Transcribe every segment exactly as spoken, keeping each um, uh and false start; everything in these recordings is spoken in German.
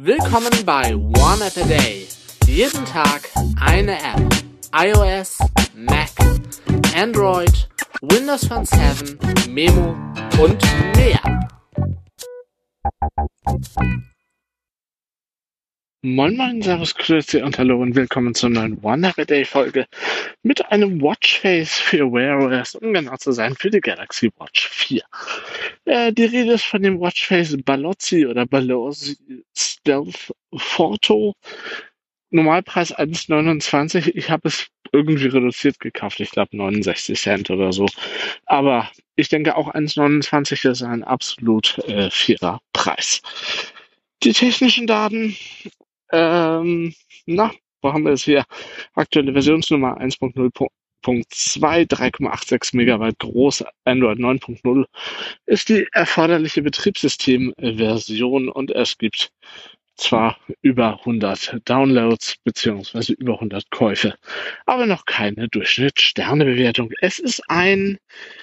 Willkommen bei One App a Day. Jeden Tag eine App. iOS, Mac, Android, Windows Phone sieben, Memo und mehr. Moin Moin, Servus, Grüße und Hallo und willkommen zur neuen One App a Day Folge mit einem Watchface für Wear O S, um genau zu sein, für die Galaxy Watch vier. Äh, die Rede ist von dem Watchface Balozzi oder Balozzi Stealth Photo. Normalpreis eins neunundzwanzig. Ich habe es irgendwie reduziert gekauft. Ich glaube neunundsechzig Cent oder so. Aber ich denke auch eins neunundzwanzig ist ein absolut äh, fairer Preis. Die technischen Daten, ähm, na, wo haben wir es hier? Aktuelle Versionsnummer eins Punkt null Punkt zwei, drei Komma sechsundachtzig Megabyte groß, Android neun Punkt null ist die erforderliche Betriebssystemversion und es gibt zwar über hundert Downloads beziehungsweise über hundert Käufe, aber noch keine Durchschnittssternebewertung. Es ist ein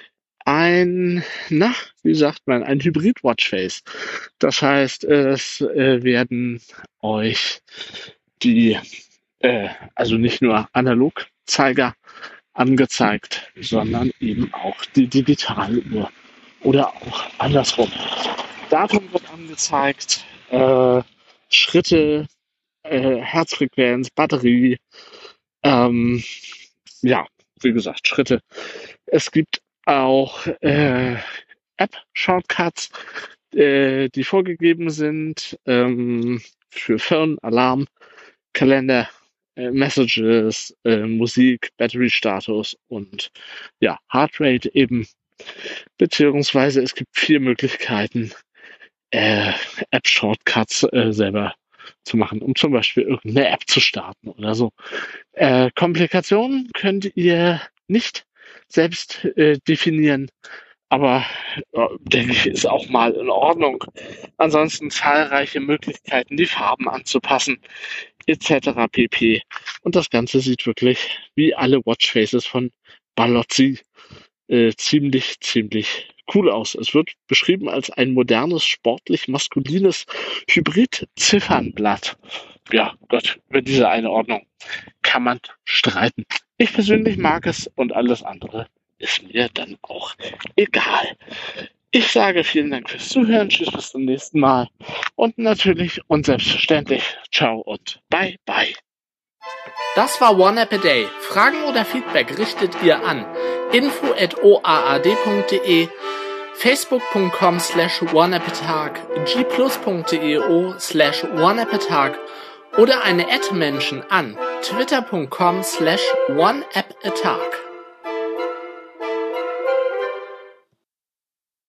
ein, na, wie sagt man, ein Hybrid-Watchface. Das heißt, es äh, werden euch die, äh, also nicht nur Analogzeiger angezeigt, sondern eben auch die Digitaluhr oder auch andersrum. Datum wird angezeigt, äh, Schritte, äh, Herzfrequenz, Batterie, ähm, ja, wie gesagt, Schritte. Es gibt auch äh, App-Shortcuts, äh, die vorgegeben sind ähm, für Phone, Alarm, Kalender, äh, Messages, äh, Musik, Battery-Status und ja, Heartrate eben. Beziehungsweise es gibt vier Möglichkeiten, äh, App-Shortcuts äh, selber zu machen, um zum Beispiel irgendeine App zu starten oder so. Äh, Komplikationen könnt ihr nicht selbst äh, definieren, aber äh, denke ich, ist auch mal in Ordnung. Ansonsten zahlreiche Möglichkeiten, die Farben anzupassen, et cetera pp. Und das Ganze sieht wirklich wie alle Watchfaces von Balozzi äh, ziemlich, ziemlich cool aus. Es wird beschrieben als ein modernes, sportlich maskulines Hybrid-Ziffernblatt. Ja, Gott, über diese Einordnung kann man streiten. Ich persönlich mag es und alles andere ist mir dann auch egal. Ich sage vielen Dank fürs Zuhören. Tschüss, bis zum nächsten Mal. Und natürlich und selbstverständlich ciao und bye bye. Das war One App a Day. Fragen oder Feedback richtet ihr an info at o a a d punkt d e, facebook punkt com slash oneappatag, g plus punkt d e o slash oneappatag oder eine Ad-Menschen an twitter punkt com slash oneappatag.